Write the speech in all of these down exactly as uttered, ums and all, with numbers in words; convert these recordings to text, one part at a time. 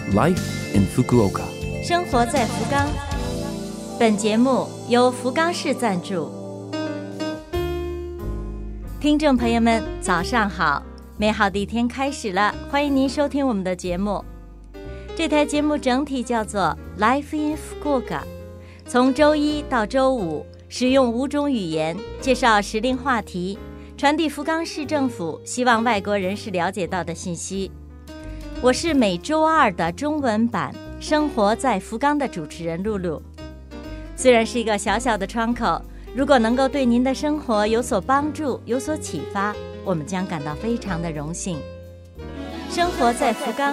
Life in Fukuoka， 生活在福冈。本节目由福冈市赞助。听众朋友们，早上好！美好的一天开始了，欢迎您收听我们的节目。这台节目整体叫做 Life in Fukuoka， 从周一到周五，使用五种语言介绍时令话题，传递福冈市政府希望外国人士了解到的信息。我是每周二的中文版《生活在福冈》的主持人露露。虽然是一个小小的窗口，如果能够对您的生活有所帮助、有所启发，我们将感到非常的荣幸。生活在福冈。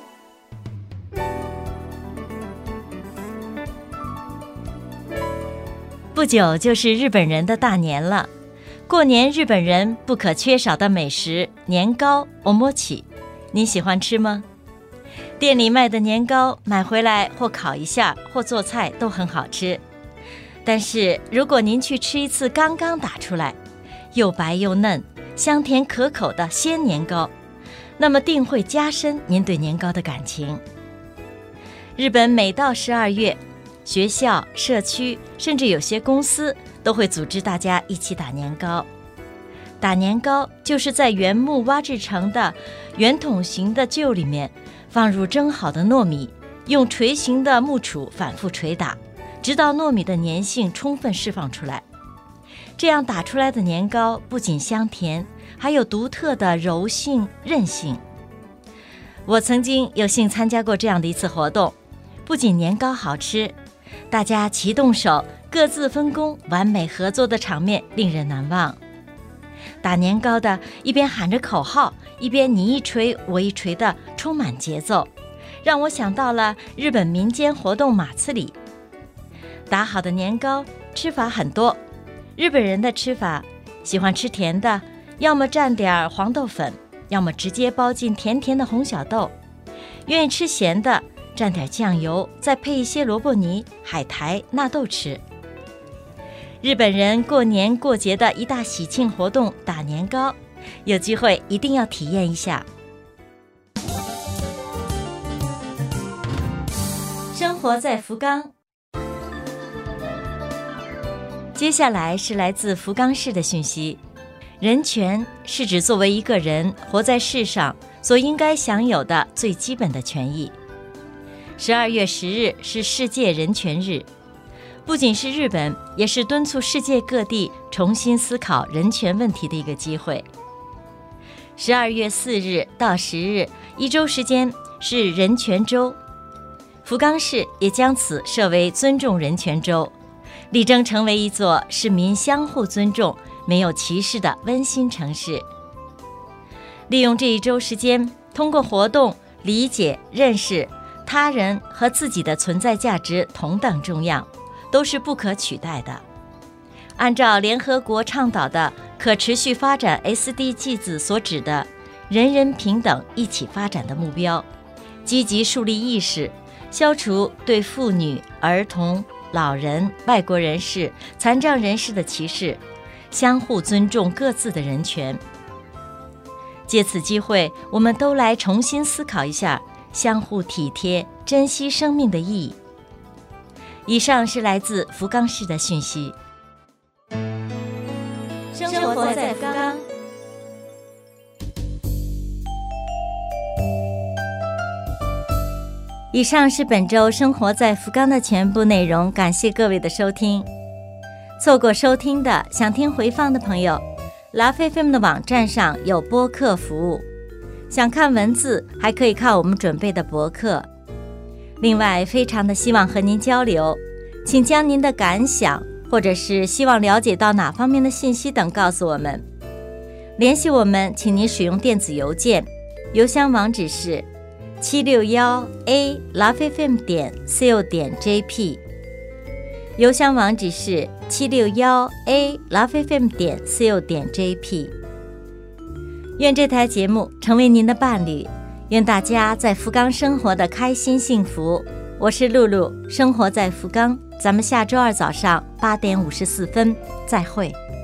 不久就是日本人的大年了，过年日本人不可缺少的美食年糕 omochi， 你喜欢吃吗？店里卖的年糕买回来或烤一下或做菜都很好吃，但是如果您去吃一次刚刚打出来又白又嫩香甜可口的鲜年糕，那么定会加深您对年糕的感情。日本每到十二月，学校、社区甚至有些公司都会组织大家一起打年糕。打年糕就是在原木挖制成的圆筒形的臼里面放入蒸好的糯米，用锤形的木杵反复捶打，直到糯米的粘性充分释放出来。这样打出来的年糕不仅香甜，还有独特的柔性、韧性。我曾经有幸参加过这样的一次活动，不仅年糕好吃，大家齐动手，各自分工，完美合作的场面令人难忘。打年糕的一边喊着口号，一边你一锤我一锤的充满节奏，让我想到了日本民间活动马刺里。打好的年糕吃法很多，日本人的吃法喜欢吃甜的，要么蘸点黄豆粉，要么直接包进甜甜的红小豆，愿意吃咸的蘸点酱油，再配一些萝卜泥、海苔、纳豆吃。日本人过年过节的一大喜庆活动打年糕，有机会一定要体验一下。生活在福冈。接下来是来自福冈市的讯息。人权是指作为一个人活在世上所应该享有的最基本的权益。十二月十日是世界人权日，不仅是日本，也是敦促世界各地重新思考人权问题的一个机会。十二月四日到十日，一周时间是人权周，福冈市也将此设为尊重人权周，力争成为一座市民相互尊重、没有歧视的温馨城市。利用这一周时间，通过活动理解、认识他人和自己的存在价值同等重要，都是不可取代的。按照联合国倡导的可持续发展 S D Gs 所指的人人平等一起发展的目标，积极树立意识，消除对妇女、儿童、老人、外国人士、残障人士的歧视，相互尊重各自的人权。借此机会，我们都来重新思考一下相互体贴、珍惜生命的意义。以上是来自福冈市的讯息。生活在福冈。以上是本周生活在福冈的全部内容，感谢各位的收听。错过收听的，想听回放的朋友， Love F M 的网站上有播客服务，想看文字还可以看我们准备的博客。另外，非常的希望和您交流，请将您的感想或者是希望了解到哪方面的信息等告诉我们。联系我们，请您使用电子邮件，邮箱网址是七六一 a love f m 点 co 点 jp， 邮箱网址是七六一 a love f m 点 co 点 jp。 愿这台节目成为您的伴侣，愿大家在福冈生活的开心幸福。我是露露，生活在福冈，咱们下周二早上八点五十四分再会。